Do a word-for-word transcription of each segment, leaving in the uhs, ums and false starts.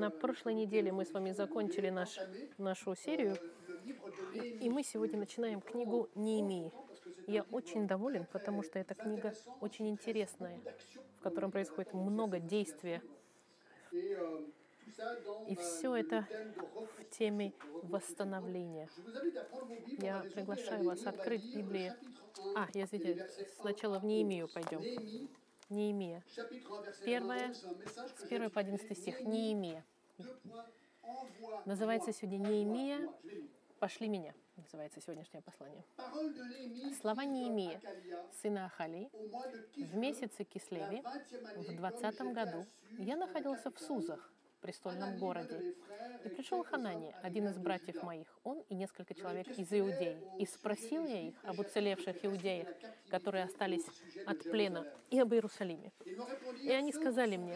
На прошлой неделе мы с вами закончили наш, нашу серию, и мы сегодня начинаем книгу Неемии. Я очень доволен, потому что эта книга очень интересная, в котором происходит много действия. И все это в теме восстановления. Я приглашаю вас открыть Библию. А, я извиняюсь, сначала в Неемию пойдем. Неемия. Первое, с первого по одиннадцатый стих. Неемия. Называется сегодня Неемия «Пошли меня», называется сегодняшнее послание. Слова Неемии, сына Ахали, в месяце Кислеве, в двадцатом году, я находился в Сузах, престольном городе. И пришел Ханания, один из братьев моих, он и несколько человек из Иудеи. И спросил я их об уцелевших иудеях, которые остались от плена, и об Иерусалиме. И они сказали мне: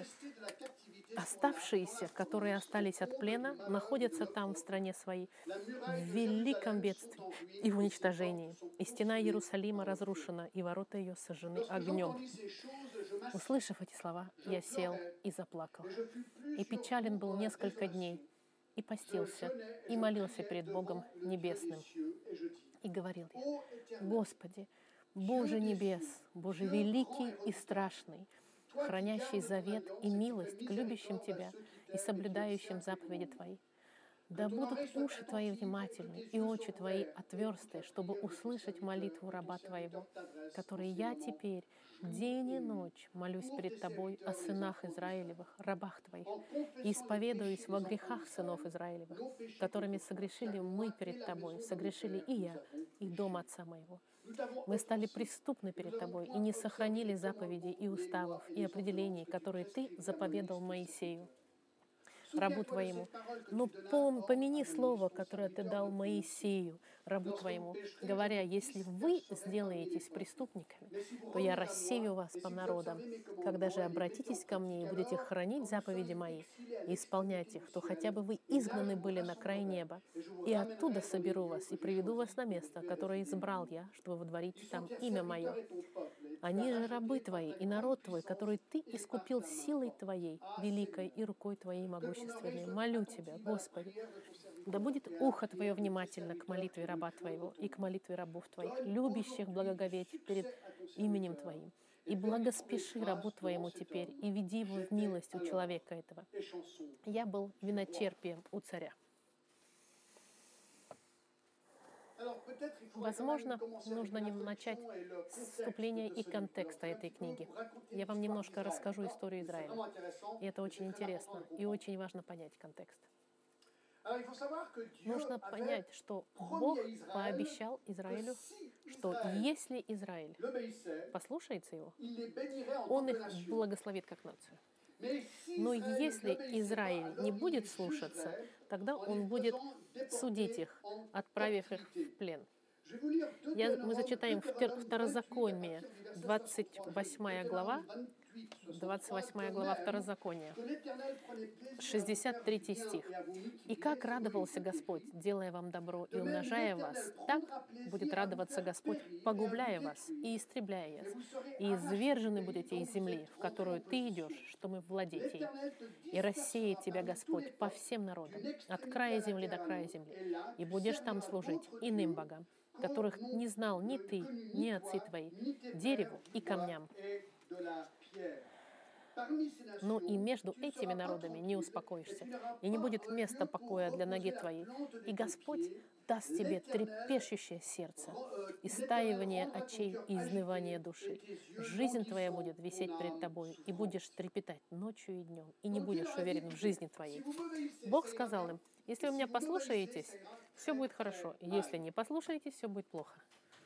оставшиеся, которые остались от плена, находятся там, в стране своей, в великом бедствии и в уничтожении. И стена Иерусалима разрушена, и ворота ее сожжены огнем. Услышав эти слова, я сел и заплакал. И печален был несколько дней, и постился, и молился перед Богом Небесным. И говорил я: Господи, Боже небес, Боже великий и страшный, хранящий завет и милость к любящим Тебя и соблюдающим заповеди Твои. Да будут уши Твои внимательны и очи Твои отверсты, чтобы услышать молитву раба Твоего, который я теперь день и ночь молюсь перед Тобой о сынах Израилевых, рабах Твоих, и исповедуюсь во грехах сынов Израилевых, которыми согрешили мы перед Тобой, согрешили и я, и дом отца моего. Мы стали преступны перед Тобой и не сохранили заповедей и уставов и определений, которые Ты заповедал Моисею, рабу Твоему. Но пом, помяни слово, которое Ты дал Моисею, рабу Твоему, говоря: если вы сделаетесь преступниками, то я рассею вас по народам. Когда же обратитесь ко мне и будете хранить заповеди мои и исполнять их, то хотя бы вы изгнаны были на край неба, и оттуда соберу вас и приведу вас на место, которое избрал я, чтобы водворить там имя мое. Они же рабы Твои и народ Твой, который Ты искупил силой Твоей, великой и рукой Твоей могущественной. Молю Тебя, Господи, да будет ухо Твое внимательно к молитве раба Твоего и к молитве рабов Твоих, любящих благоговеть перед именем Твоим. И благоспеши рабу Твоему теперь, и веди его в милость у человека этого. Я был виночерпием у царя. Возможно, нужно начать с вступления и контекста этой книги. Я вам немножко расскажу историю Израиля. И это очень интересно, и очень важно понять контекст. Нужно понять, что Бог пообещал Израилю, что если Израиль послушается Его, Он их благословит как нацию. Но если Израиль не будет слушаться, тогда Он будет судить их, отправив их в плен. Я, мы зачитаем Второзаконие, двадцать восьмая глава, двадцать восьмая глава Второзакония, шестьдесят третий стих. «И как радовался Господь, делая вам добро и умножая вас, так будет радоваться Господь, погубляя вас и истребляя вас. И извержены будете из земли, в которую ты идешь, чтобы владеть ей. И рассеет тебя Господь по всем народам, от края земли до края земли, и будешь там служить иным богам, которых не знал ни ты, ни отцы твои, дереву и камням. Но и между этими народами не успокоишься, и не будет места покоя для ноги твоей. И Господь даст тебе трепещущее сердце, истаивание очей и изнывание души. Жизнь твоя будет висеть перед тобой, и будешь трепетать ночью и днем, и не будешь уверен в жизни твоей». Бог сказал им: если вы меня послушаетесь, все будет хорошо. Если не послушаетесь, все будет плохо.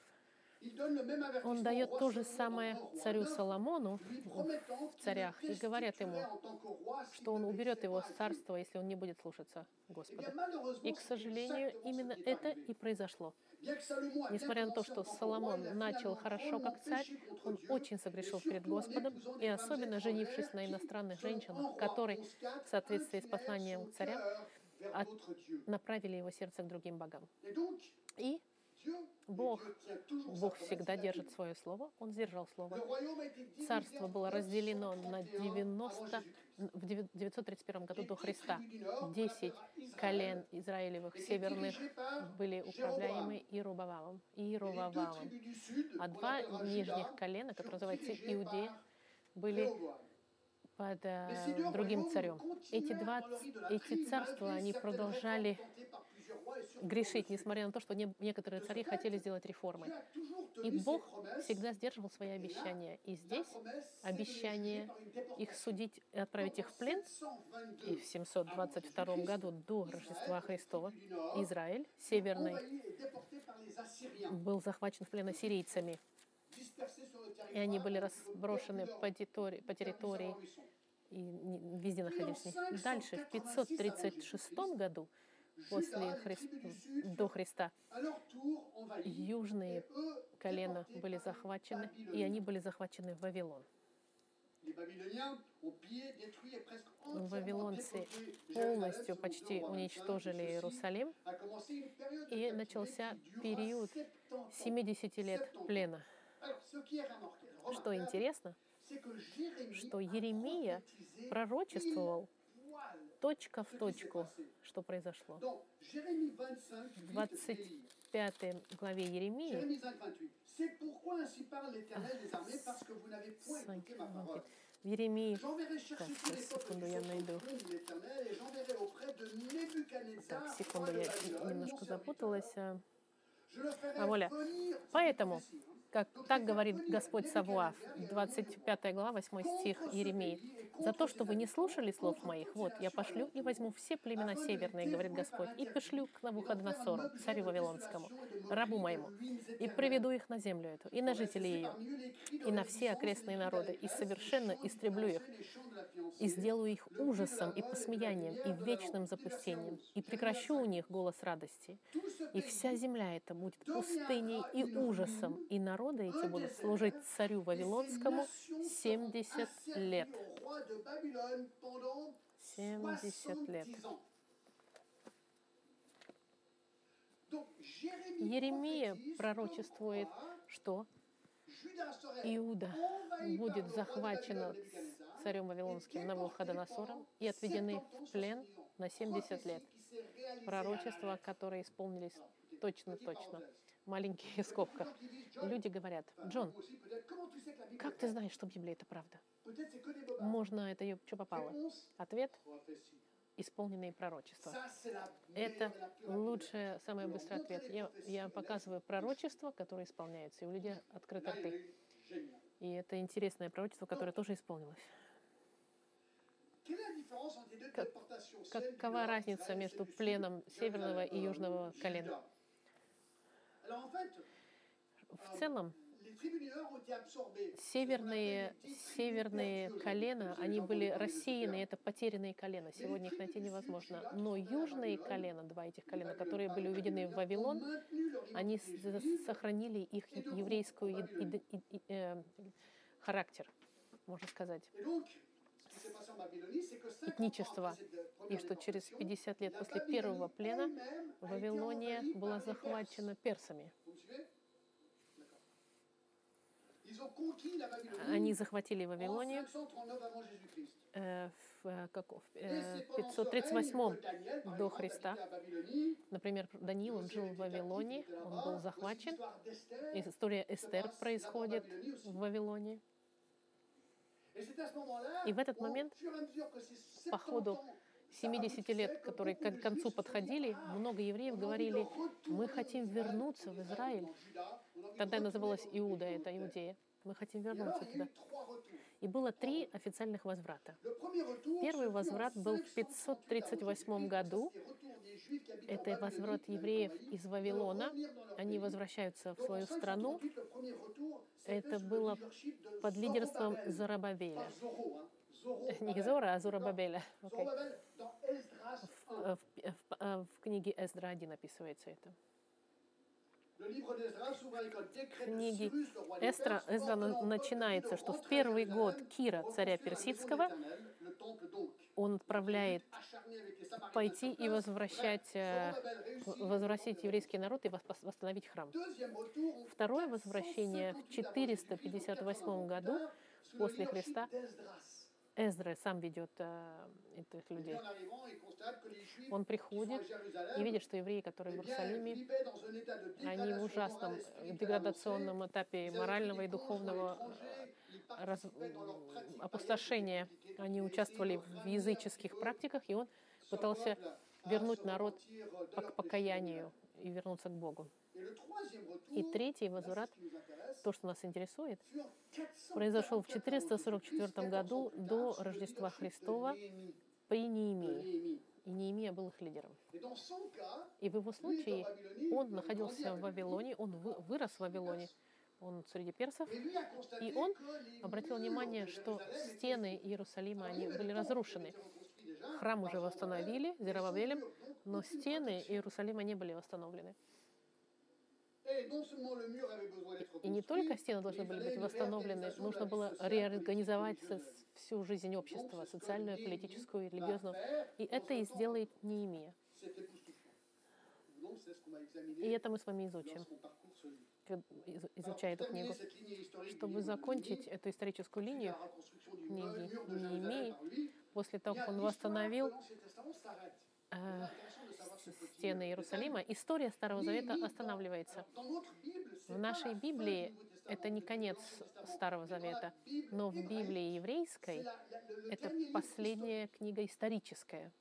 Он дает то же самое царю Соломону в царях и говорят ему, что он уберет его с царства, если он не будет слушаться Господа. И, к сожалению, именно это и произошло. Несмотря на то, что Соломон начал хорошо как царь, он очень согрешил перед Господом, и особенно женившись на иностранных женщинах, которые, в соответствии с посланием к царям, от... направили его сердце к другим богам. И Бог, Бог всегда держит свое слово, Он сдержал слово. Царство было разделено на девяносто в девятьсот тридцать первом году до Христа десять колен Израилевых северных были управляемы Иеровоамом, Иеровоамом, а два нижних колена, которые называются Иудея, были под э, другим царем. Эти, два, эти царства, они продолжали грешить, несмотря на то, что не, некоторые цари хотели сделать реформы. И Бог всегда сдерживал свои обещания. И здесь обещание их судить и отправить их в плен. И в семьсот двадцать втором году до Рождества Христова Израиль, северный, был захвачен в плен ассирийцами. И они были разброшены по территории, по территории и везде находились. Дальше, в пятьсот тридцать шестом году после Хри... до Христа, южные колена были захвачены, и они были захвачены в Вавилон. Вавилонцы полностью почти уничтожили Иерусалим, и начался период семидесяти лет плена. Что интересно, что Иеремия пророчествовал точка в точку, что произошло. В двадцать пятой главе Иеремии в Иеремии, так, секунду, я найду. Так, секунду, я немножко запуталась. А, воля. Поэтому, как, так говорит Господь Савуав, двадцать пятая глава, восьмой стих Иеремии. «За то, что вы не слушали слов моих, вот, я пошлю и возьму все племена северные, говорит Господь, и пошлю к Навуходоносору, царю Вавилонскому, рабу моему, и приведу их на землю эту, и на жителей ее, и на все окрестные народы, и совершенно истреблю их, и сделаю их ужасом и посмеянием, и вечным запустением, и прекращу у них голос радости. И вся земля эта будет пустыней и ужасом, и народы эти будут служить царю Вавилонскому семьдесят лет». семьдесят лет. Иеремия пророчествует, что Иуда будет захвачена царем Вавилонским Навуходоносором и отведены в плен на семьдесят лет. Пророчества, которые исполнились точно-точно. Маленькие скобка. Люди говорят: «Джон, как ты знаешь, что Библия — это правда? Можно это ее что попало?» Ответ: исполненные пророчества. Это лучший, самый быстрый ответ. Я, я показываю пророчества, которые исполняются, и у людей открыты рты. И это интересное пророчество, которое тоже исполнилось. Как, какова разница между пленом северного и южного колена? В целом, Северные, северные колена, они были рассеяны, это потерянные колена. Сегодня их найти невозможно. Но южные колена, два этих колена, которые были уведены в Вавилон, они сохранили их еврейскую э, характер, можно сказать, этничество. И что через пятьдесят лет после первого плена Вавилония была захвачена персами. Они захватили Вавилонию э, в, как, в э, пятьсот тридцать восьмом до Христа. Например, Даниил, он жил в Вавилоне, он был захвачен. История Эстер происходит в Вавилоне. И в этот момент, по ходу семидесяти лет, которые к концу подходили, много евреев говорили: мы хотим вернуться в Израиль. Тогда называлась Иуда, это Иудея. Мы хотим вернуться туда. И было три официальных возврата. Первый возврат был в пятьсот тридцать восьмом году. Это возврат евреев из Вавилона. Они возвращаются в свою страну. Это было под лидерством Зоробабеля. Не Зора, а Зоробабеля. Okay. В, в, в, в книге Эздра один описывается это. В книге Эстра, Эздра начинается, что в первый год Кира, царя Персидского, он отправляет пойти и возвращать, возвратить еврейский народ и восстановить храм. Второе возвращение в четыреста пятьдесят восьмом году после Христа, Эзра сам ведет э, этих людей. Он приходит и видит, что евреи, которые в Иерусалиме, они в ужасном э, деградационном этапе морального и духовного э, раз- м, опустошения. Они участвовали в языческих практиках, и он пытался вернуть народ по- к покаянию и вернуться к Богу. И третий возврат, то, что нас интересует, произошел в четыреста сорок четвёртом году до Рождества Христова при Неемии. И Неемия был их лидером. И в его случае он находился в Вавилоне, он вы- вырос в Вавилоне, он среди персов, и он обратил внимание, что стены Иерусалима, они были разрушены. Храм уже восстановили Зерубабелем, но стены Иерусалима не были восстановлены. И не только стены должны были быть восстановлены, нужно было реорганизовать со- всю жизнь общества, социальную, политическую, религиозную. И это и сделает Неемия. И это мы с вами изучим, как- из- изучая эту книгу. Чтобы закончить эту историческую линию книги Неемии, после того, как он восстановил э, с- стены Иерусалима, история Старого Завета останавливается. В нашей Библии это не конец Старого Завета, но в Библии еврейской это последняя книга историческая.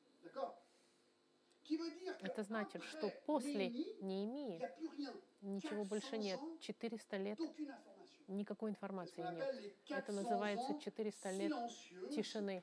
Это значит, что после Неемии ничего больше нет. четыреста лет никакой информации нет. Это называется четыреста лет тишины.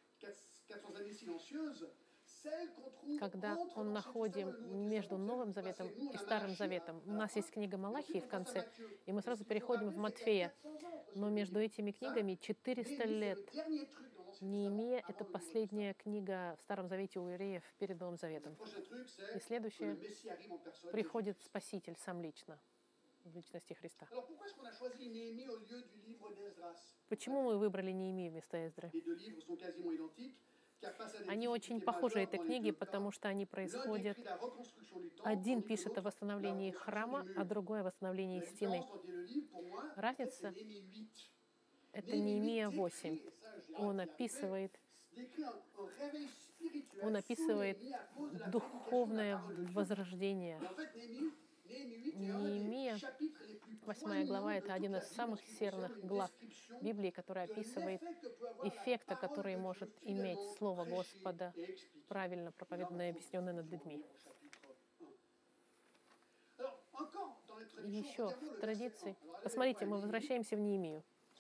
Когда он находим между Новым Заветом и Старым Заветом. У нас есть книга Малахии в конце, и мы сразу переходим в Матфея. Но между этими книгами четыреста лет. Неемия — это последняя книга в Старом Завете у евреев перед Новым Заветом. И следующее — приходит Спаситель сам лично, в личности Христа. Почему мы выбрали Неемию вместо Эздры? Они очень похожи, эти книги, потому что они происходят... Один пишет о восстановлении храма, а другой о восстановлении стены. Разница — это Неемия восемь. Он описывает, он описывает духовное возрождение. Неемия, восьмая глава, это один из самых серных глав Библии, который описывает эффекты, которые может иметь Слово Господа, правильно проповеданное и объясненное над людьми. И еще в традиции... Посмотрите, мы возвращаемся в Неемию.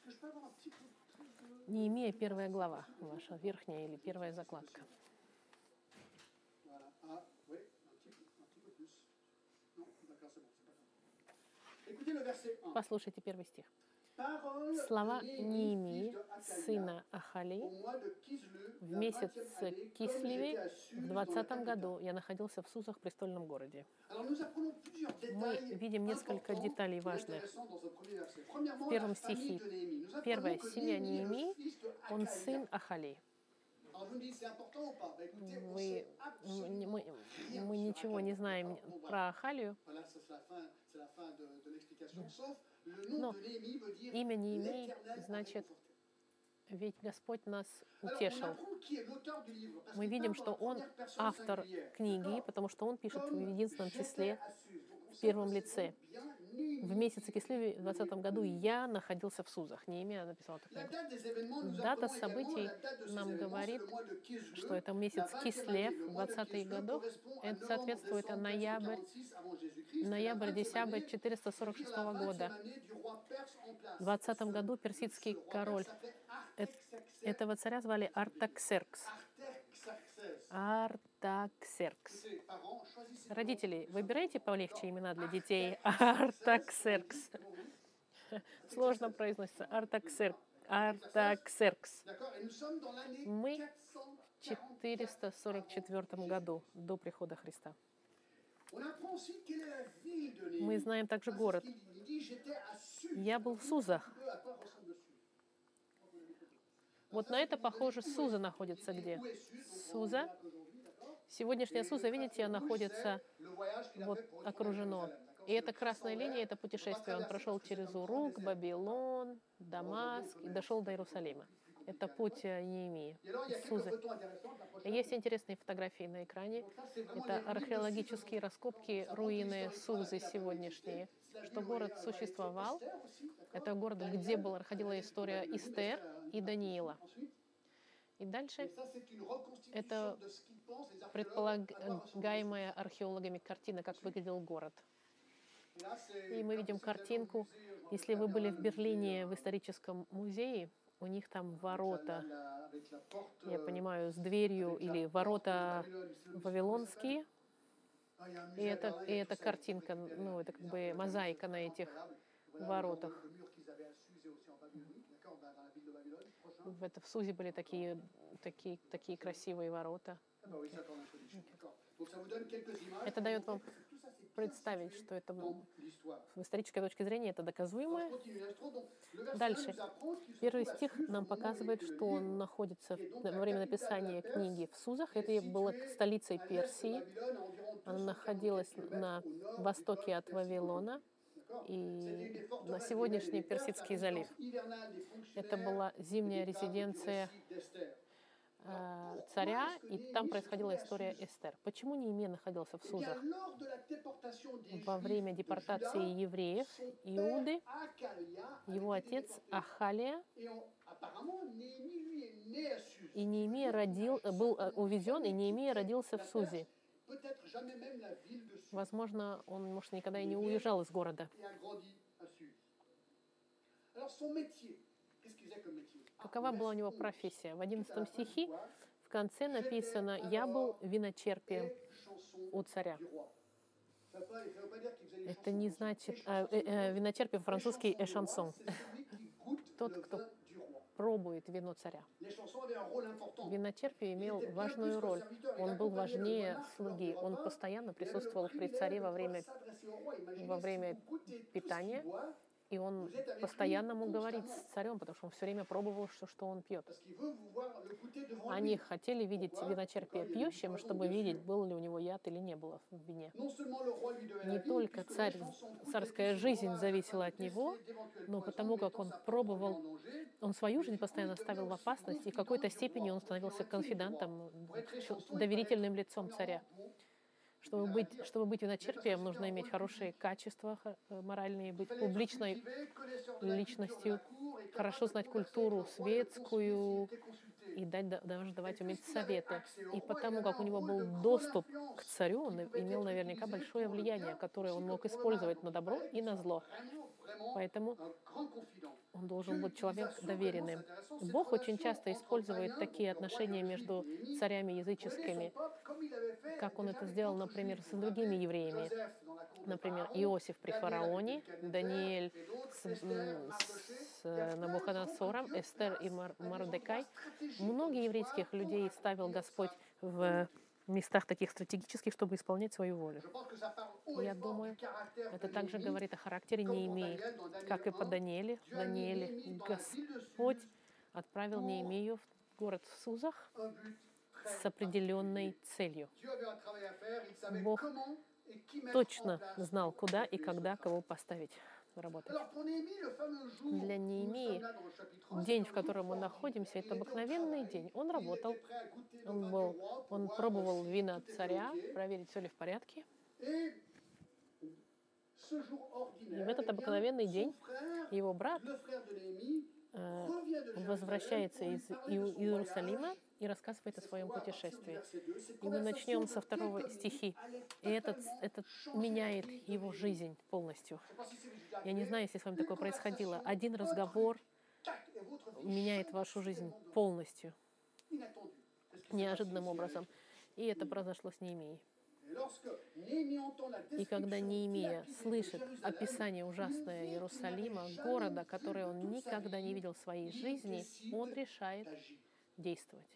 Неемия, первая глава, ваша верхняя или первая закладка. Послушайте первый стих. Слова Неемии, сына Ахали, в месяц Кислеве в двадцатом году я находился в Сузах, престольном городе. Мы видим несколько деталей важных. В первом стихе. Первое. Семья Неемии, он сын Ахали. Вы, мы, мы ничего не знаем про Ахалию, но имя Неемии значит «Ведь Господь нас утешил». Мы видим, что он автор книги, потому что он пишет в единственном числе, в первом лице. В месяце Кислеве в двадцатом году я находился в Сузах. Неемия написал эту книгу. Дата событий нам говорит, что это месяц Кислев, двадцатых годов. Это соответствует ноябрь, ноябрь-декабрь четыреста сорок шестого года. В двадцатом году персидский король. Этого царя звали Артаксеркс. Артаксеркс. Родители, выбирайте полегче имена для детей. Артаксеркс. Сложно произносится. Артаксеркс. Артаксеркс. Мы в четыреста сорок четвёртом году до прихода Христа. Мы знаем также город. Я был в Сузах. Вот на это похоже, Суза находится где? Суза. Сегодняшняя Суза, видите, находится вот окружено. И эта красная линия — это путешествие. Он прошел через Урук, Вавилон, Дамаск и дошел до Иерусалима. Это путь Неемии, Сузы. И есть интересные фотографии на экране. Это археологические раскопки, руины Сузы сегодняшние. Что город существовал. Это город, где была, проходила история Эстер и Даниила. И дальше это предполагаемая археологами картина, как выглядел город. И мы видим картинку. Если вы были в Берлине в историческом музее, у них там ворота, я понимаю, с дверью, или ворота вавилонские. И это, и это картинка, ну, это как бы мозаика на этих воротах. В, это, в Сузе были такие, такие, такие красивые ворота. Это дает вам представить, что это с исторической точки зрения это доказуемо. Дальше. Первый стих нам показывает, что он находится во время написания книги в Сузах. Это было столицей Персии. Она находилась на востоке от Вавилона и на сегодняшний Персидский залив. Это была зимняя резиденция э, царя, и там происходила история Эстер. Почему Неемия находился в Сузах? Во время депортации евреев Иуды его отец Ахалия и Неемия родил, был увезен, и Неемия родился в Сузе. Возможно, он, может, никогда и не уезжал из города. Какова была у него профессия? В одиннадцатом стихе в конце написано: «Я был виночерпием у царя». Это не значит... Э, э, виночерпие по-французски «эшансон». Тот, кто пробует вино царя. Виночерпие имел важную роль. Он был важнее слуги. Он постоянно присутствовал при царе во время, во время питания. И он постоянно мог говорить с царем, потому что он все время пробовал, что, что он пьет. Они хотели видеть виночерпие пьющим, чтобы видеть, был ли у него яд или не было в вине. Не только царь, царская жизнь зависела от него, но потому как он пробовал, он свою жизнь постоянно ставил в опасность, и в какой-то степени он становился конфидантом, доверительным лицом царя. Чтобы быть, чтобы быть виночерпием, нужно иметь хорошие качества моральные, быть публичной личностью, хорошо знать культуру светскую и дать, даже давать уметь советы. И потому как у него был доступ к царю, он имел наверняка большое влияние, которое он мог использовать на добро и на зло. Поэтому он должен быть человек доверенным. Бог очень часто использует такие отношения между царями языческими, как он это сделал, например, с другими евреями. Например, Иосиф при фараоне, Даниэль с, с Навуходоносором, Эстер и Мар- Мордекай. Многие еврейских людей ставил Господь в местах таких стратегических, чтобы исполнять свою волю. Я думаю, это также говорит о характере Неемии, как и по Данииле. В Данииле Господь отправил Неемию в город в Сузах с определенной целью. Бог точно знал, куда и когда кого поставить работать. Для Неемии день, в котором мы находимся, это обыкновенный день. Он работал, он, был, он пробовал вина царя, проверить, все ли в порядке. И в этот обыкновенный день его брат э, возвращается из Иерусалима и рассказывает о своем путешествии. И мы начнем со второго стихи. И этот, этот меняет его жизнь полностью. Я не знаю, если с вами такое происходило. Один разговор меняет вашу жизнь полностью, неожиданным образом. И это произошло с Неемией. И когда Неемия слышит описание ужасное Иерусалима, города, который он никогда не видел в своей жизни, он решает действовать.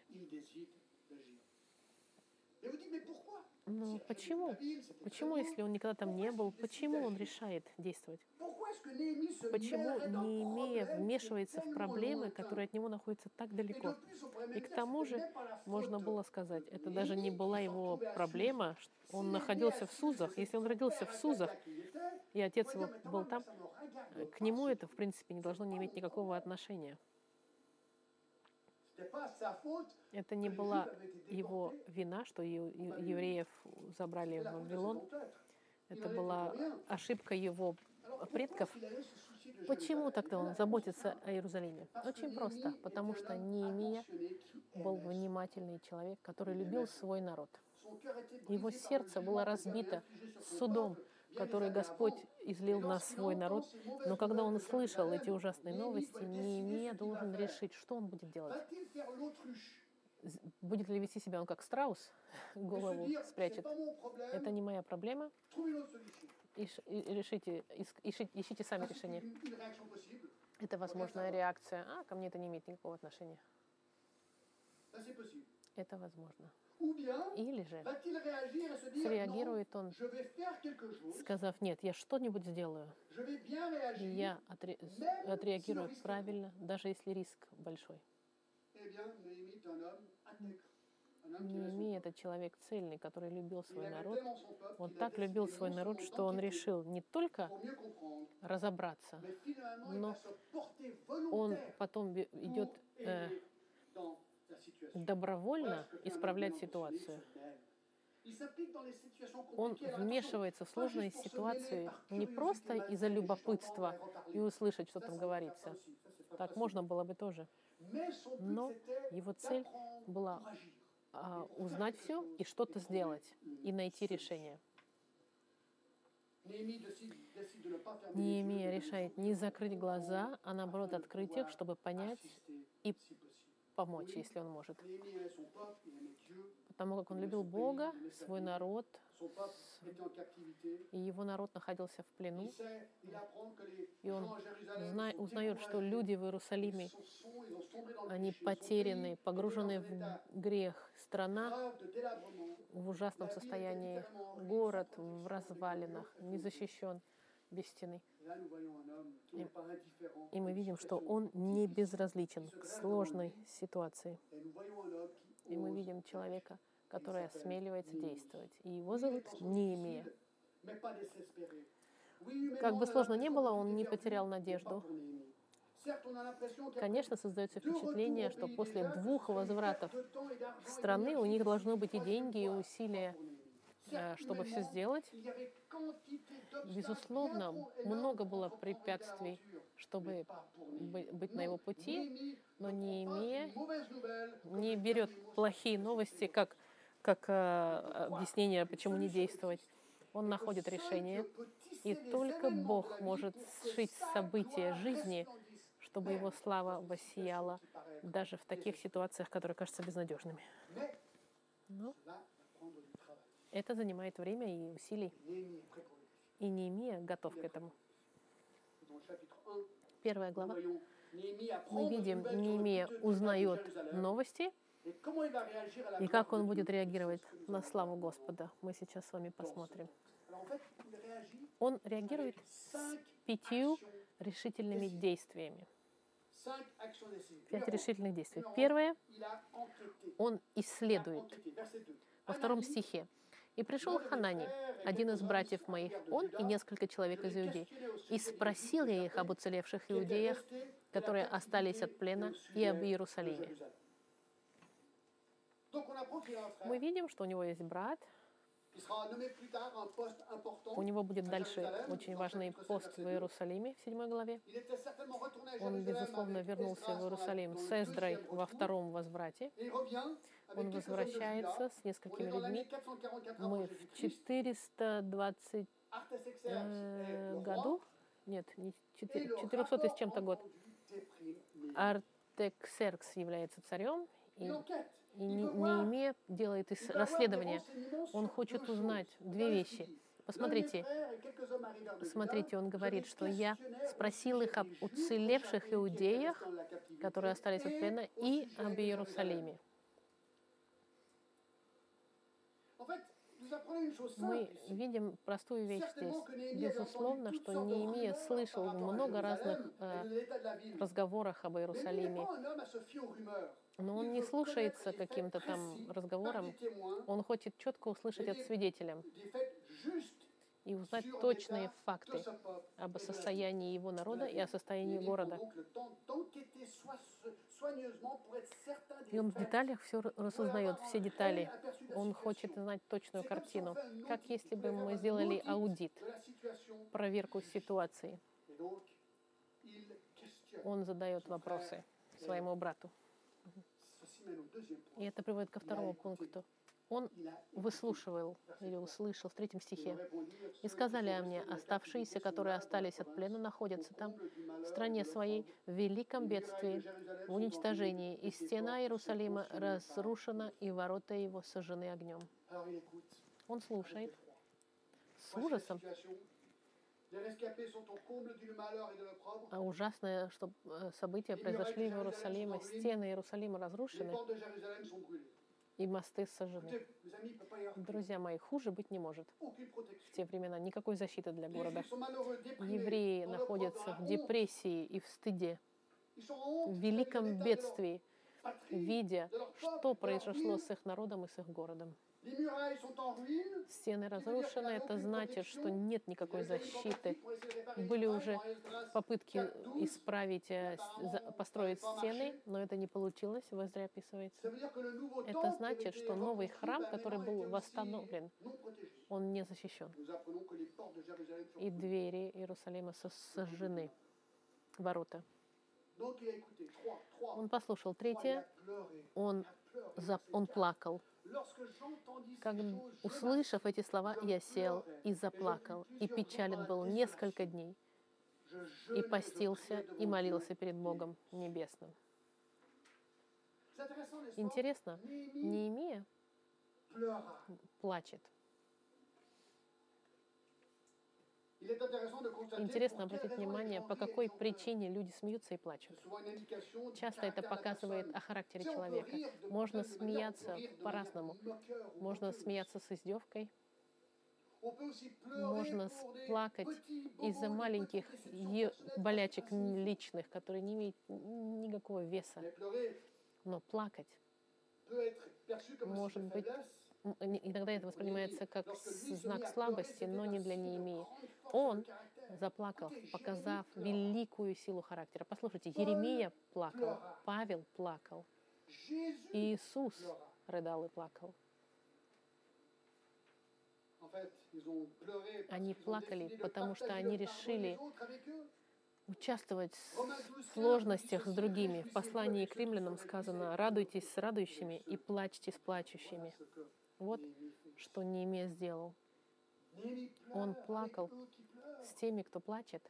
Но почему? Почему, если он никогда там не был, почему он решает действовать? Почему Неемия вмешивается в проблемы, которые от него находятся так далеко? И к тому же, можно было сказать, это даже не была его проблема, он находился в Сузах. Если он родился в Сузах, и отец его был там, к нему это, в принципе, не должно не иметь никакого отношения. Это не была его вина, что ев- ев- евреев забрали в Вавилон. Это была ошибка его предков. Почему тогда он заботится о Иерусалиме? Очень просто. Потому что Неемия был внимательный человек, который любил свой народ. Его сердце было разбито судом, который Господь излил на свой народ. Но когда он услышал эти ужасные новости, Неемия должен решить, что он будет делать. З- Будет ли вести себя он как страус, голову спрячет. Это не моя проблема. Иш- и- решите, ис- ищи- ищите сами решение. Это возможная реакция. А, ко мне это не имеет никакого отношения. Это возможно. Или же среагирует он, сказав, нет, я что-нибудь сделаю. И я отре- с- отреагирую правильно, даже если риск большой. Неемия — это человек цельный, который любил свой народ. Он так любил свой народ, что он решил не только разобраться, но он потом бе- идет э, добровольно исправлять ситуацию. Он вмешивается в сложные ситуации не просто из-за любопытства и услышать, что там говорится. Так можно было бы тоже. Но его цель была а, узнать все и что-то сделать, и найти решение. Неемия решает не закрыть глаза, а наоборот открыть их, чтобы понять и помочь, если он может. Потому как он любил Бога, свой народ, и его народ находился в плену. И он зна- узнает, что люди в Иерусалиме, они потеряны, погружены в грех. Страна в ужасном состоянии, город в развалинах, не защищен, без стены. И, и мы видим, что он не безразличен к сложной ситуации. И мы видим человека, который осмеливается действовать. И его зовут Неемия. Как бы сложно ни было, он не потерял надежду. Конечно, создается впечатление, что после двух возвратов в страны у них должно быть и деньги, и усилия, э, чтобы все сделать. Безусловно, много было препятствий, чтобы бы- быть на его пути, но Неемия не берет плохие новости как, как э, объяснение, почему не действовать. Он находит решение, и только Бог может сшить события жизни, чтобы его слава воссияла даже в таких ситуациях, которые кажутся безнадежными. Но это занимает время и усилий. И Неемия готов к этому. Первая глава. Мы видим, Неемия узнает новости, и как он будет реагировать на славу Господа, мы сейчас с вами посмотрим. Он реагирует с пятью решительными действиями. Пять решительных действий. Первое, он исследует. Во втором стихе. «И пришел Ханани, один из братьев моих, он и несколько человек из Иудеи, и спросил я их об уцелевших иудеях, которые остались от плена, и об Иерусалиме». Мы видим, что у него есть брат. У него будет дальше очень важный пост в Иерусалиме в седьмой главе. Он, безусловно, вернулся в Иерусалим с Эздрой во втором возврате. Он возвращается с несколькими людьми. Мы в четыреста двадцатом э, году, нет, не четырехсотый с чем-то год, Артаксеркс является царем, и, и Неемия делает ис- расследование. Он хочет узнать две вещи. Посмотрите, смотрите, он говорит, что я спросил их об уцелевших иудеях, которые остались от плена, и об Иерусалиме. Мы видим простую вещь здесь. Безусловно, что Неемия слышал много разных э, разговоров об Иерусалиме, но он не слушается каким-то там разговорам. Он хочет четко услышать от свидетеля. и узнать точные факты об состоянии его народа и о состоянии города. И он в деталях все рассознает, все детали. Он хочет знать точную картину, как если бы мы сделали аудит, проверку ситуации. Он задает вопросы своему брату. И это приводит ко второму пункту. Он выслушивал или услышал в третьем стихе. «И сказали о мне, оставшиеся, которые остались от плена, находятся там, в стране своей, в великом бедствии, в уничтожении, и стена Иерусалима разрушена, и ворота его сожжены огнем». Он слушает с ужасом. А ужасное, что события произошли в Иерусалиме, стены Иерусалима разрушены, и мосты сожжены. Друзья мои, хуже быть не может в те времена. Никакой защиты для города. Евреи находятся в депрессии и в стыде, в великом бедствии, видя, что произошло с их народом и с их городом. Стены разрушены, это значит, что нет никакой защиты. Были уже попытки исправить, построить стены, но это не получилось, в Эзре описывается. Это значит, что новый храм, который был восстановлен, он не защищен. И двери Иерусалима сожжены, ворота. Он послушал. Третье, он, он плакал. Как, услышав эти слова, я сел и заплакал, и печален был несколько дней, и постился, и молился перед Богом Небесным. Интересно, Неемия плачет. Интересно обратить внимание, по какой причине люди смеются и плачут. Часто это показывает о характере человека. Можно смеяться по-разному. Можно смеяться с издевкой. Можно плакать из-за маленьких болячек личных, которые не имеют никакого веса. Но плакать может быть... Иногда это воспринимается как знак слабости, но не для Неемии. Он заплакал, показав великую силу характера. Послушайте, Еремия плакал, Павел плакал, Иисус рыдал и плакал. Они плакали, потому что они решили участвовать в сложностях с другими. В послании к римлянам сказано: «Радуйтесь с радующими и плачьте с плачущими». Вот что Неемия сделал. Он плакал с теми, кто плачет.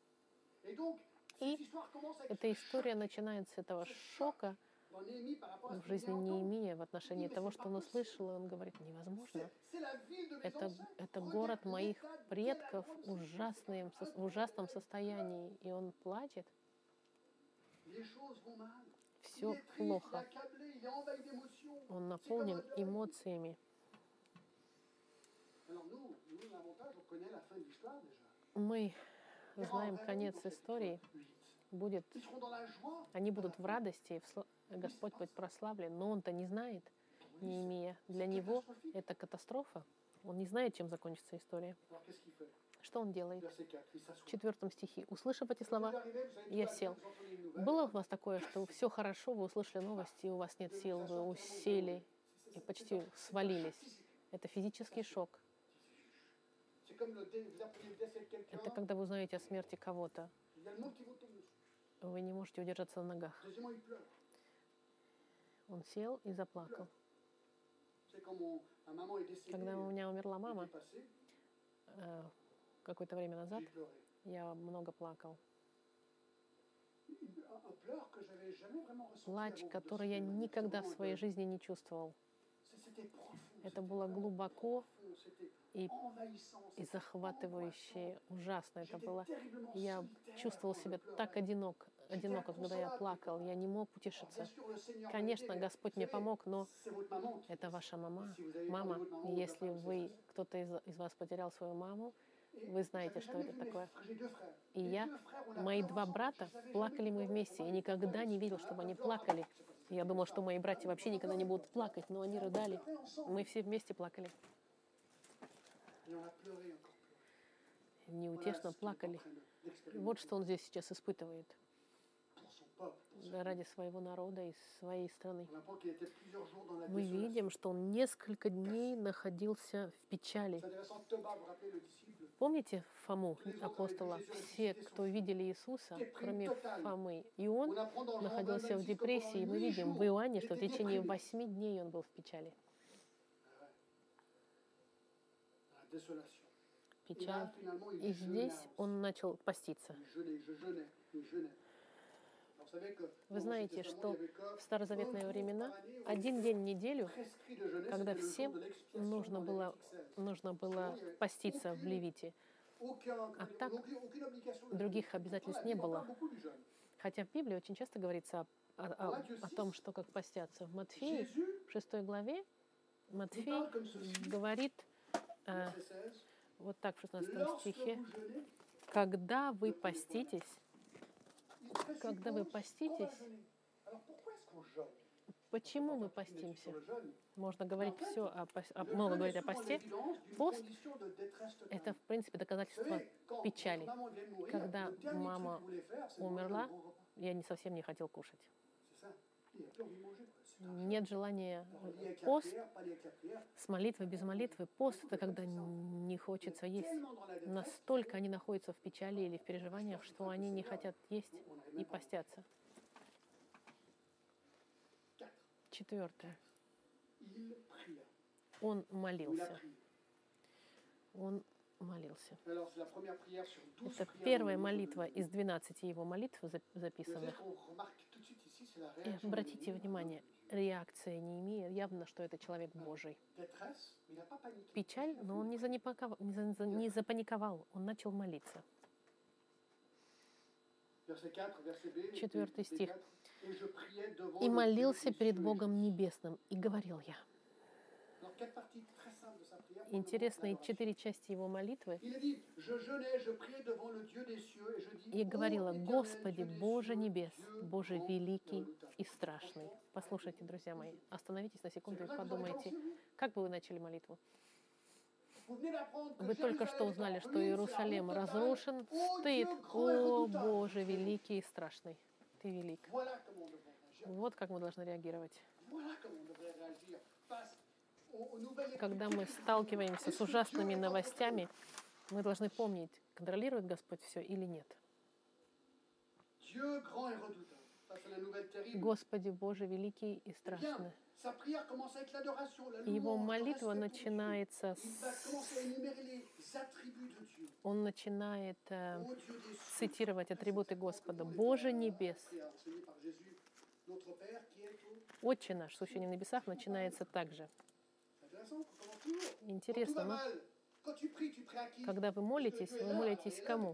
И эта история начинается с этого шока в жизни Неемии в отношении того, что он услышал, и он говорит: невозможно. Это, это город моих предков в, ужасном, в ужасном состоянии, и он плачет. Все плохо. Он наполнен эмоциями. Мы знаем конец истории. Будет, они будут в радости, Господь будет прославлен, но он-то не знает, Неемия. Для него это катастрофа. Он не знает, чем закончится история. Что он делает? В четвертом стихе. Услышав эти слова, я сел. Было у вас такое, что все хорошо, вы услышали новости, и у вас нет сил, вы усели и почти свалились? Это физический шок. Это когда вы узнаете о смерти кого-то. Вы не можете удержаться на ногах. Он сел и заплакал. Когда у меня умерла мама, э, какое-то время назад, я много плакал. Плач, который я никогда в своей жизни не чувствовал. Это было глубоко и, и захватывающе, ужасно это было. Я чувствовал себя так одинок, одиноко, когда я плакал. Я не мог утешиться. Конечно, Господь мне помог, но это ваша мама. Мама, если вы, кто-то из, из вас потерял свою маму, вы знаете, что это такое. И я, мои два брата, плакали мы вместе. Я никогда не видел, чтобы они плакали. Я думал, что мои братья вообще никогда не будут плакать, но они рыдали. Мы все вместе плакали. неутешно плакали. Вот что он здесь сейчас испытывает ради своего народа и своей страны. Мы видим, что он несколько дней находился в печали. Помните Фому, апостола? Все, кто видели Иисуса, кроме Фомы, и он находился в депрессии. Мы видим в Иоанне, что в течение восьми дней он был в печали. Печаль. И здесь он начал поститься. Вы знаете, что в старозаветные времена один день в неделю, когда всем нужно было, нужно было поститься в Левите, а так других обязательств не было. Хотя в Библии очень часто говорится о, о, о том, что как постятся. В Матфеи, в шестой главе, Матфей говорит э, вот так в шестнадцатом стихе: «Когда вы поститесь, когда вы поститесь, почему мы постимся?» Можно говорить все о, о, много говорить о посте. Пост — это, в принципе, доказательство печали. Когда мама умерла, я не совсем не хотел кушать. Нет желания. Пост с молитвой, без молитвы. Пост — это когда не хочется есть. Настолько они находятся в печали или в переживаниях, что они не хотят есть и постятся. Четвертое. Он молился. Он молился. Это первая молитва из двенадцати его молитв записанных. И обратите внимание, реакция не имеет, явно, что это человек Божий. Печаль, но он не, занепаковал, не, за, не запаниковал, он начал молиться. Четвертый стих. «И молился перед Богом Небесным, и говорил я». Интересные четыре части его молитвы. И говорила: «Господи, Боже небес, Боже великий и страшный». Послушайте, друзья мои, остановитесь на секунду и подумайте, как бы вы начали молитву. Вы только что узнали, что Иерусалим разрушен, стоит: «О, Боже великий и страшный, Ты велик». Вот как мы должны реагировать. Когда мы сталкиваемся с ужасными новостями, мы должны помнить, контролирует Господь все или нет. Господи Боже великий и страшный. Его молитва начинается с... Он начинает э, цитировать атрибуты Господа. «Боже небес». «Отче наш, сущий на небесах» начинается также. Интересно, но когда вы молитесь, вы молитесь кому?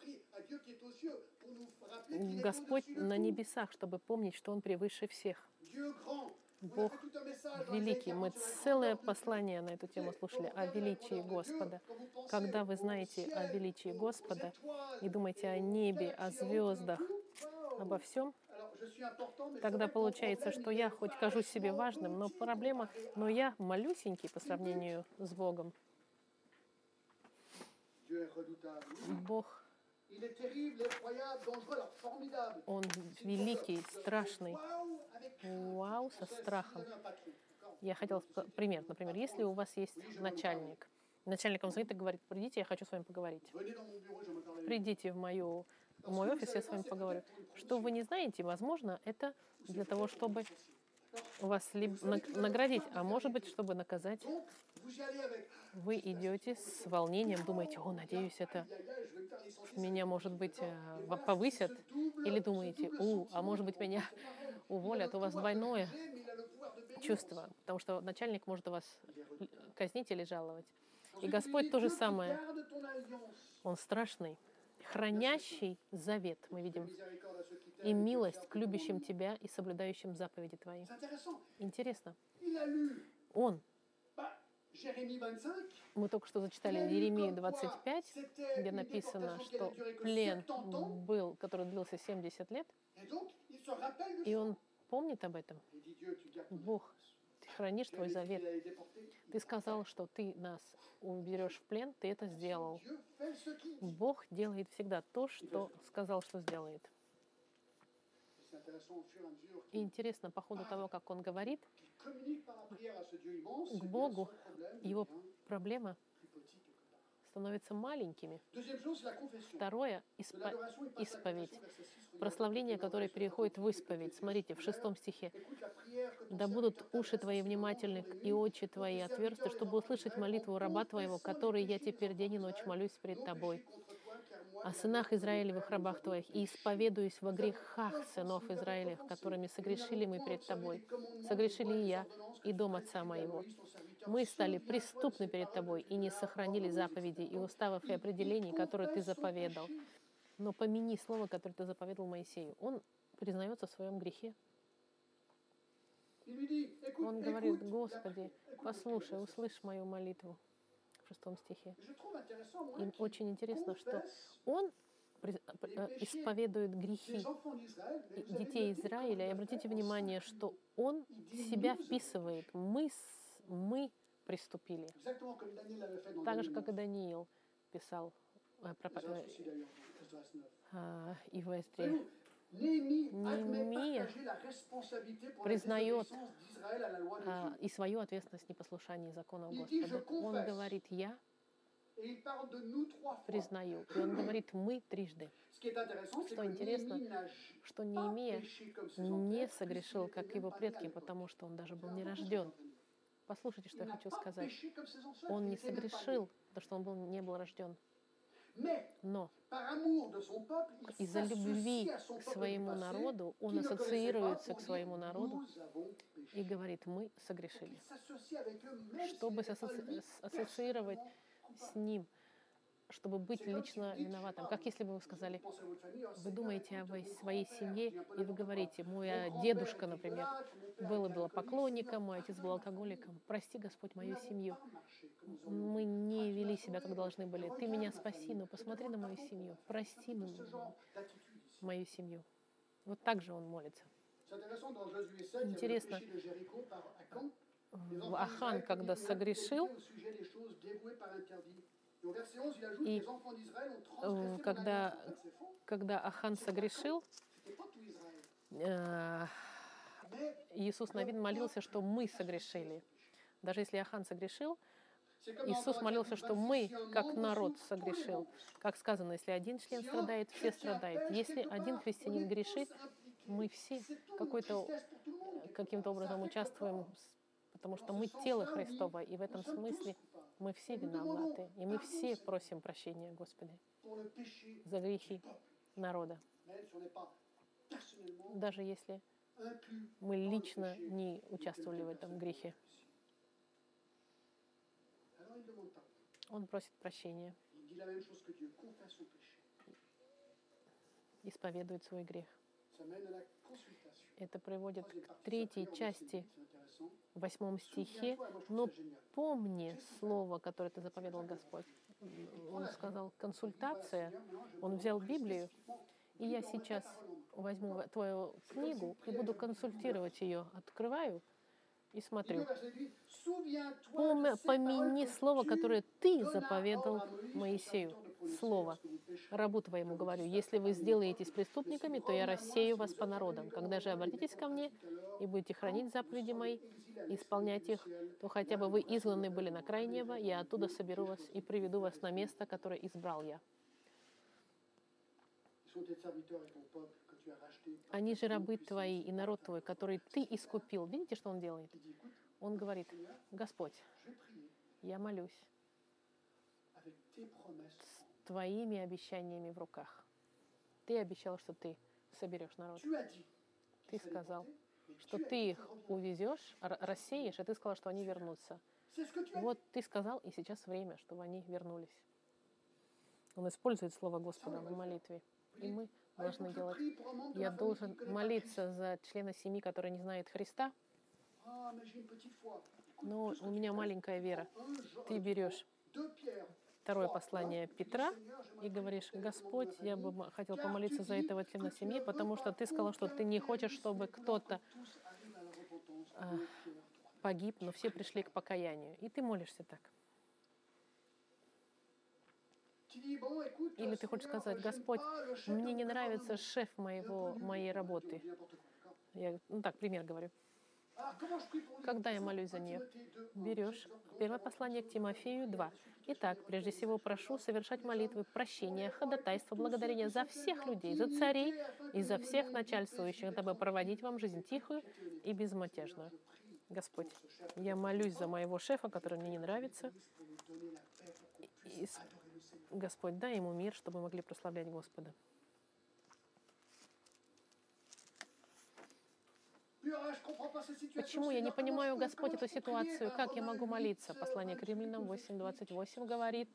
Господь на небесах, чтобы помнить, что Он превыше всех. Бог великий. Мы целое послание на эту тему слушали о величии Господа. Когда вы знаете о величии Господа и думаете о небе, о звездах, обо всем, тогда получается, что я хоть кажусь себе важным, но проблема, но я малюсенький по сравнению с Богом. Бог, Он великий, страшный. Вау, со страхом. Я хотела пример. Например, если у вас есть начальник, начальник вам звонит и говорит: «Придите, я хочу с вами поговорить». Придите в мою в мой офис, я с вами поговорю. Что вы не знаете, возможно, это для того, чтобы вас либо наградить, а может быть, чтобы наказать. Вы идете с волнением, думаете: «О, надеюсь, это меня, может быть, повысят». Или думаете: «У, а может быть, меня уволят». У вас двойное чувство, потому что начальник может вас казнить или жаловать. И Господь то же самое. Он страшный, хранящий завет, мы видим, и милость к любящим Тебя и соблюдающим заповеди Твои. Интересно. Он. Мы только что зачитали Иеремию двадцать пять, где написано, что плен был, который длился семьдесят лет, и он помнит об этом. Бог, Ты хранишь твой завет. Ты сказал, что ты нас уберешь в плен, ты это сделал. Бог делает всегда то, что сказал, что сделает. И интересно, по ходу того, как он говорит к Богу, его проблема становятся маленькими. Второе — испо- исповедь. Прославление, которое переходит в исповедь. Смотрите, в шестом стихе. «Да будут уши твои внимательны и очи твои отверсты, чтобы услышать молитву раба твоего, который я теперь день и ночь молюсь пред тобой, о сынах Израилевых рабах твоих, и исповедуюсь во грехах сынов Израилевых, которыми согрешили мы пред тобой. Согрешили и я, и дом отца моего. Мы стали преступны перед тобой и не сохранили заповедей и уставов и определений, которые ты заповедал. Но помяни слово, которое ты заповедал Моисею». Он признается в своем грехе. Он говорит: «Господи, послушай, услышь мою молитву». В шестом стихе. И очень интересно, что он исповедует грехи детей Израиля. И обратите внимание, что он себя вписывает. Мы, мы приступили. Так же, как и Даниил писал и в Эстре. Неемия признает а, и свою ответственность в непослушании законов Господа. Он говорит: «Я признаю». И он говорит: «Мы» трижды. Что интересно, что Неемия не согрешил, как его предки, потому что он даже был не рожден. Послушайте, что я хочу сказать. Он не согрешил, потому что он был, не был рожден. Но из-за любви к своему народу он ассоциируется к своему народу и говорит: «Мы согрешили». Чтобы ассоциировать с ним, чтобы быть лично виноватым. Как если бы вы сказали: вы думаете о своей семье, и вы говорите: мой дедушка, например, был идолопоклонником, мой отец был алкоголиком. Прости, Господь, мою семью. Мы не вели себя, как должны были. Ты меня спаси, но посмотри на мою семью. Прости мою семью». Вот так же он молится. Интересно, Ахан, когда согрешил, и когда, когда Ахан согрешил, Иисус Навин молился, что мы согрешили. Даже если Ахан согрешил, Иисус молился, что мы, как народ, согрешил. Как сказано, если один член страдает, все страдают. Если один христианин грешит, мы все какой-то, каким-то образом участвуем, потому что мы тело Христово, и в этом смысле мы все виноваты, и мы все просим прощения, Господи, за грехи народа. Даже если мы лично не участвовали в этом грехе. Он просит прощения, исповедует свой грех. Это приводит к третьей части, в восьмом стихе. «Но помни слово, которое ты заповедал Господь». Он сказал консультация. Он взял Библию, и я сейчас возьму твою книгу и буду консультировать ее. Открываю и смотрю. Помяни слово, которое ты заповедал Моисею. Слово. Рабу твоему говорю: если вы сделаетесь преступниками, то я рассею вас по народам. Когда же обратитесь ко мне и будете хранить заповеди мои, исполнять их, то хотя бы вы изгнаны были на край неба, я оттуда соберу вас и приведу вас на место, которое избрал я. Они же рабы твои и народ твой, который ты искупил. Видите, что он делает? Он говорит: Господь, я молюсь с твоими обещаниями в руках. Ты обещал, что ты соберешь народ. Ты сказал, что ты их увезешь, рассеешь, и ты сказал, что они вернутся. Вот ты сказал, и сейчас время, чтобы они вернулись. Он использует слово Господа в молитве. И мы должны делать. Я должен молиться за члена семьи, который не знает Христа. Но у меня маленькая вера. Ты берешь второе послание Петра и говоришь: Господь, я бы хотел помолиться за этого члена семьи, потому что ты сказал, что ты не хочешь, чтобы кто-то погиб, но все пришли к покаянию. И ты молишься так. Или ты хочешь сказать: Господь, мне не нравится шеф моего, моей работы. Я, ну так, пример говорю. Когда я молюсь за нее? Берешь первое послание к Тимофею два. Итак, прежде всего прошу совершать молитвы, прощения, ходатайства, благодарения за всех людей, за царей и за всех начальствующих, дабы проводить вам жизнь тихую и безмятежную. Господь, я молюсь за моего шефа, который мне не нравится. И, Господь, дай ему мир, чтобы мы могли прославлять Господа. Почему я не понимаю, Господь, эту ситуацию? Как я могу молиться? Послание к Римлянам восемь двадцать восемь говорит,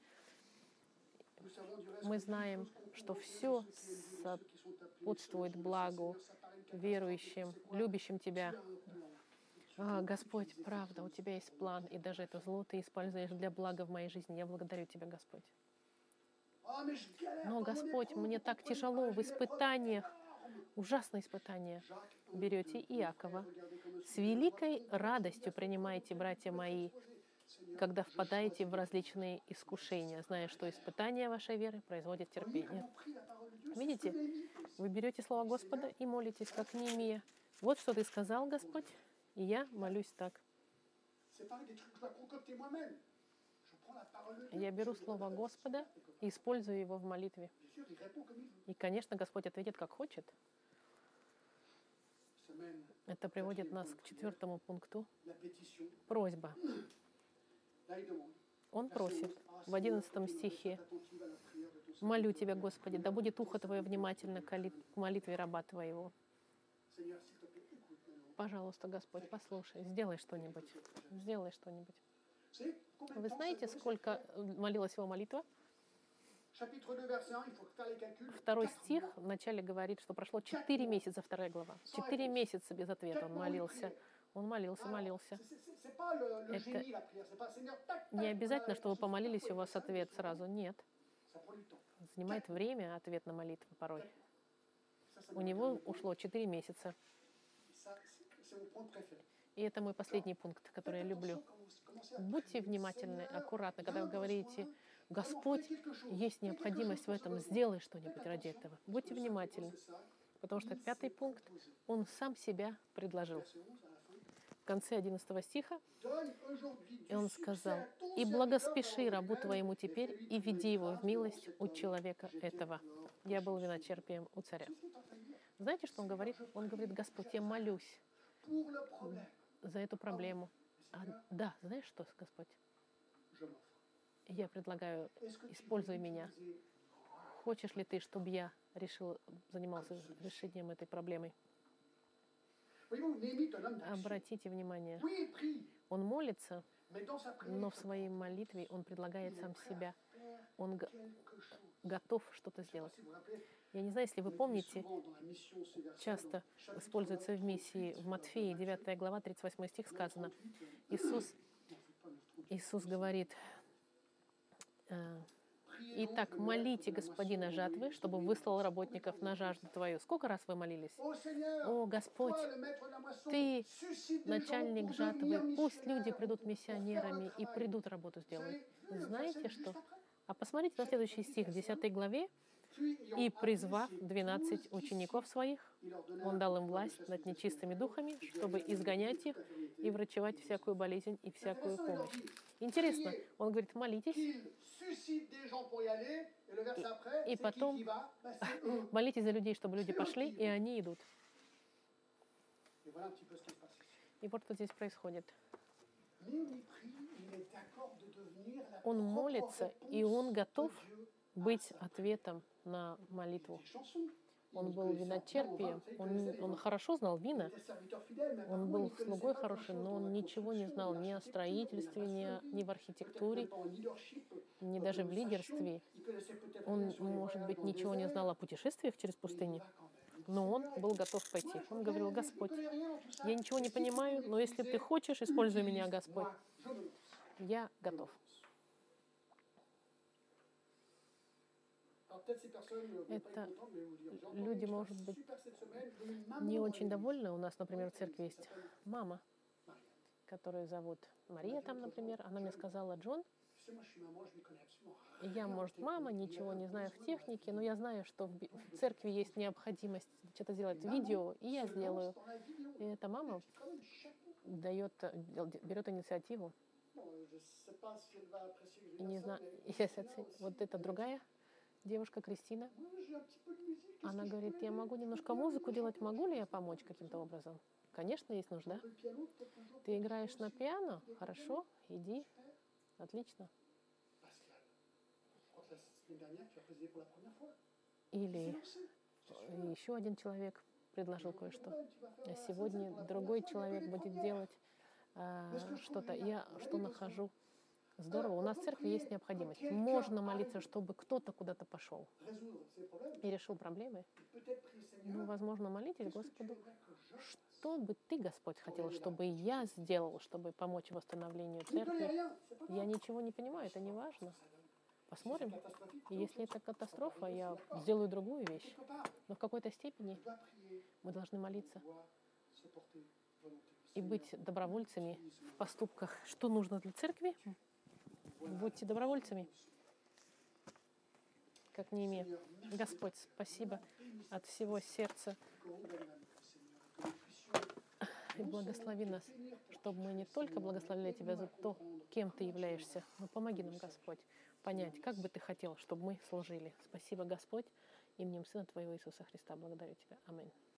мы знаем, что все сопутствует благу верующим, любящим Тебя. А, Господь, правда, у Тебя есть план, и даже это зло Ты используешь для блага в моей жизни. Я благодарю Тебя, Господь. Но, Господь, мне так тяжело в испытаниях, ужасные испытания. Берете Иакова. С великой радостью принимаете, братья мои, когда впадаете в различные искушения, зная, что испытания вашей веры производят терпение. Видите? Вы берете слово Господа и молитесь, как Неемия. Вот что Ты сказал, Господь, и я молюсь так. Я беру слово Господа и использую его в молитве. И, конечно, Господь ответит, как хочет. Это приводит нас к четвертому пункту. Просьба. Он просит в одиннадцатом стихе: «Молю Тебя, Господи, да будет ухо Твое внимательно к молитве раба Твоего». Пожалуйста, Господь, послушай, сделай что-нибудь. Сделай что-нибудь. Вы знаете, сколько молилась его молитва? Второй стих вначале говорит, что прошло четыре месяца, вторая глава. Четыре месяца без ответа он молился. Он молился, молился. Это не обязательно, что вы помолились, и у вас ответ сразу. Нет. Занимает время ответ на молитву порой. У него ушло четыре месяца. И это мой последний пункт, который я люблю. Будьте внимательны, аккуратны, когда вы говорите: Господь, есть необходимость в этом, сделай что-нибудь ради этого. Будьте внимательны, потому что пятый пункт, он сам себя предложил. В конце одиннадцатого стиха, и он сказал: «И благоспеши рабу твоему теперь, и веди его в милость у человека этого». Я был виночерпием у царя. Знаете, что он говорит? Он говорит: Господь, я молюсь за эту проблему. А, да, знаешь что, Господь? Я предлагаю, используй меня. Хочешь ли ты, чтобы я решил, занимался решением этой проблемы? Обратите внимание, он молится, но в своей молитве он предлагает сам себя. Он г- готов что-то сделать. Я не знаю, если вы помните, часто используется в миссии в Матфея, девятая глава, тридцать восьмой стих сказано. Иисус, Иисус говорит: «Итак, молите Господина жатвы, чтобы выслал работников на жажду твою». Сколько раз вы молились? О, Господь, Ты начальник жатвы, пусть люди придут миссионерами и придут работу сделать. Знаете что? А посмотрите на следующий стих в десятой главе. «И, призвав двенадцать учеников своих, Он дал им власть над нечистыми духами, чтобы изгонять их и врачевать всякую болезнь и всякую помощь». Интересно, он говорит: молитесь, и потом молитесь за людей, чтобы люди пошли, и они идут. И вот что здесь происходит. Он молится, и он готов быть ответом на молитву. Он был виночерпием, он, он хорошо знал вина, он был слугой хорошим, но он ничего не знал ни о строительстве, ни, о, ни в архитектуре, ни даже в лидерстве. Он, может быть, ничего не знал о путешествиях через пустыню, но он был готов пойти. Он говорил: Господь, я ничего не понимаю, но если ты хочешь, используй меня, Господь. Я готов. Это люди, может быть, не очень довольны. У нас, например, в церкви есть мама, которую зовут Мария там, например, она мне сказала: Джон, я, может, мама, ничего не знаю в технике, но я знаю, что в, в церкви есть необходимость что-то сделать видео, и я сделаю. И эта мама дает, берет инициативу. И не знаю, если вот эта другая девушка, Кристина, она говорит: я могу немножко музыку делать, могу ли я помочь каким-то образом? Конечно, есть нужда. Ты играешь на пиано? Хорошо, иди. Отлично. Или еще один человек предложил кое-что. А сегодня другой человек будет делать а, что-то. Я что нахожу? Здорово. У нас в церкви есть необходимость. Можно молиться, чтобы кто-то куда-то пошел и решил проблемы. Ну, возможно, молитесь Господу. Что бы ты, Господь, хотел, чтобы я сделал, чтобы помочь восстановлению церкви? Я ничего не понимаю, это не важно. Посмотрим. И если это катастрофа, я сделаю другую вещь. Но в какой-то степени мы должны молиться и быть добровольцами в поступках. Что нужно для церкви? Будьте добровольцами, как Неемия. Господь, спасибо от всего сердца. И благослови нас, чтобы мы не только благословили Тебя за то, кем Ты являешься, но помоги нам, Господь, понять, как бы Ты хотел, чтобы мы служили. Спасибо, Господь, именем Сына Твоего Иисуса Христа. Благодарю Тебя. Аминь.